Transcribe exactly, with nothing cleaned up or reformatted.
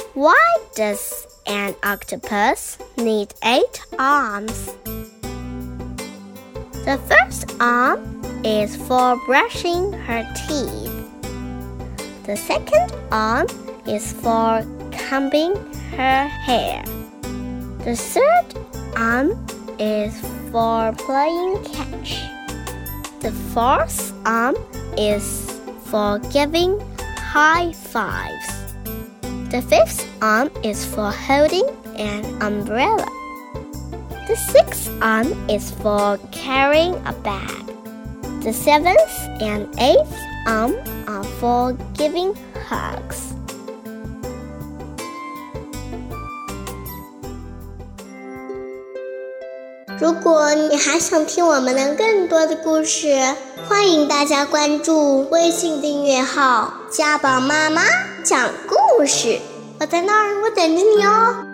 Why does an octopus need eight arms? The first arm is for brushing her teeth. The second arm is for combing her hair. The third arm is for playing catch. The fourth arm is for giving high fives. The fifth arm is for holding an umbrella. The sixth arm is for carrying a bag. The seventh and eighth arm are for giving hugs. 如果你还想听我们的更多的故事，欢迎大家关注微信订阅号家宝妈妈讲故事，我在那儿，我等着你哦。